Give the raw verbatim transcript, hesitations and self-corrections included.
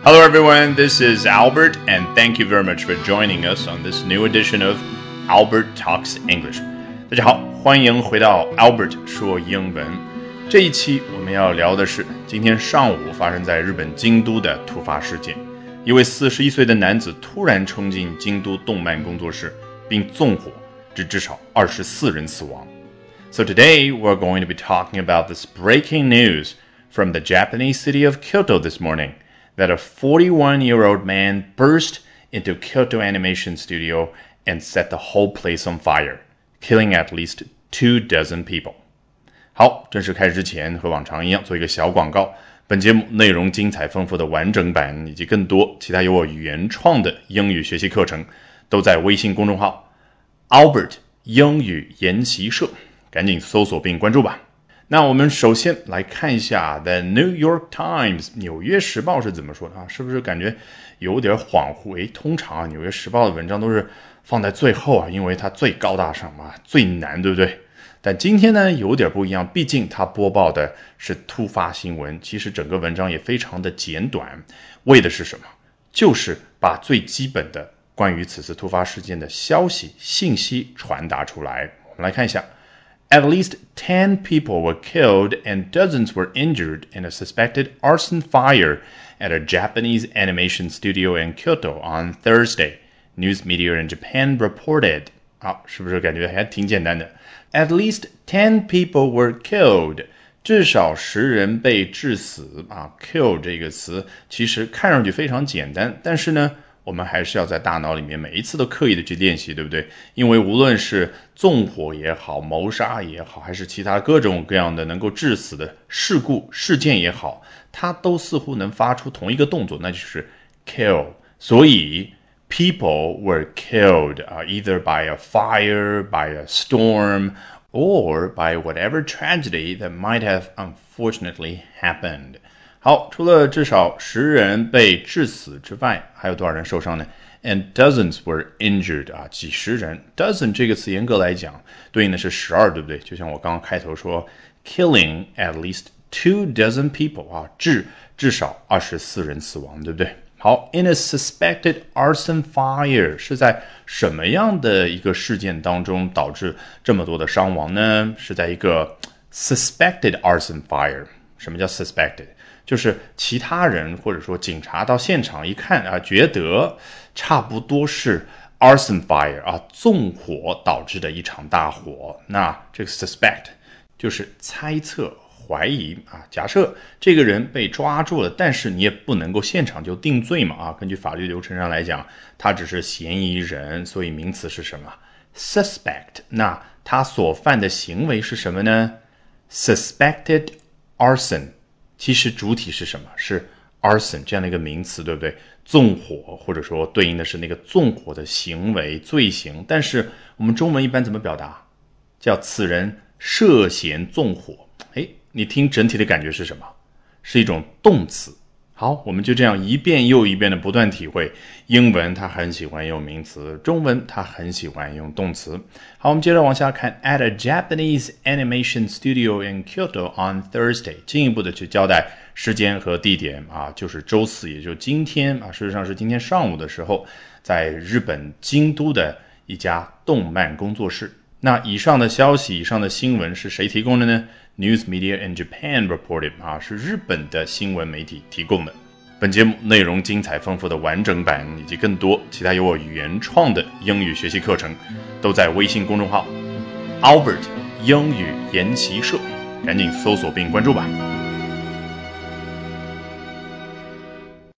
Hello everyone, this is Albert and thank you very much for joining us on this new edition of Albert Talks English. 大家好，欢迎回到 Albert 说英文。这一期我们要聊的是今天上午发生在日本京都的突发事件。一位四十一岁的男子突然冲进京都动漫工作室并纵火，致至少二十四人死亡。So today we're going to be talking about this breaking news from the Japanese city of Kyoto this morning.That a forty-one-year-old man burst into Kyoto Animation Studio and set the whole place on fire, killing at least two dozen people. 好，正式开始之前，和往常一样做一个小广告。本节目内容精彩丰富的完整版以及更多其他由我原创的英语学习课程，都在微信公众号 Albert 英语研习社，赶紧搜索并关注吧。那我们首先来看一下 The New York Times 纽约时报是怎么说的啊？是不是感觉有点恍惚？诶，通常啊，纽约时报的文章都是放在最后啊，因为它最高大上嘛，最难，对不对？但今天呢有点不一样，毕竟它播报的是突发新闻，其实整个文章也非常的简短，为的是什么？就是把最基本的关于此次突发事件的消息信息传达出来。我们来看一下。At least ten people were killed and dozens were injured in a suspected arson fire at a Japanese animation studio in Kyoto on Thursday, news media in Japan reported. 好，是不是感觉还挺简单的 ？At least ten people were killed. 至少十人被致死啊 ！kill 这个词其实看上去非常简单，但是呢，我们还是要在大脑里面每一次都刻意的去练习，对不对？因为无论是纵火也好，谋杀也好，还是其他各种各样的能够致死的事故事件也好，它都似乎能发出同一个动作，那就是 kill。所以 people were killed、uh, either by a fire, by a storm, or by whatever tragedy that might have unfortunately happened.好，除了至少十人被致死之外，还有多少人受伤呢 ？And dozens were injured 啊，几十人。Dozen 这个词严格来讲，对应的是十二，对不对？就像我刚刚开头说 ，killing at least two dozen people 啊，致至少二十四人死亡，对不对？好 ，in a suspected arson fire 是在什么样的一个事件当中导致这么多的伤亡呢？是在一个 suspected arson fire。什么叫 suspected？就是其他人或者说警察到现场一看啊，觉得差不多是 arson fire 啊，纵火导致的一场大火。那这个 suspect 就是猜测、怀疑啊。假设这个人被抓住了，但是你也不能够现场就定罪嘛啊。根据法律流程上来讲，他只是嫌疑人，所以名词是什么 ？suspect。那他所犯的行为是什么呢 ？suspected arson。其实主体是什么？是 arson 这样的一个名词，对不对？纵火，或者说对应的是那个纵火的行为罪行。但是我们中文一般怎么表达？叫此人涉嫌纵火。诶，你听整体的感觉是什么？是一种动词。好，我们就这样一遍又一遍的不断体会。英文它很喜欢用名词，中文它很喜欢用动词。好，我们接着往下看。At a Japanese animation studio in Kyoto on Thursday， 进一步的去交代时间和地点啊，就是周四，也就是今天啊，事实上是今天上午的时候，在日本京都的一家动漫工作室。那以上的消息，以上的新闻是谁提供的呢？News media in Japan reported 啊，是日本的新闻媒体提供的。本节目内容精彩丰富的完整版以及更多其他由我原创的英语学习课程，都在微信公众号 Albert 英语研习社，赶紧搜索并关注吧。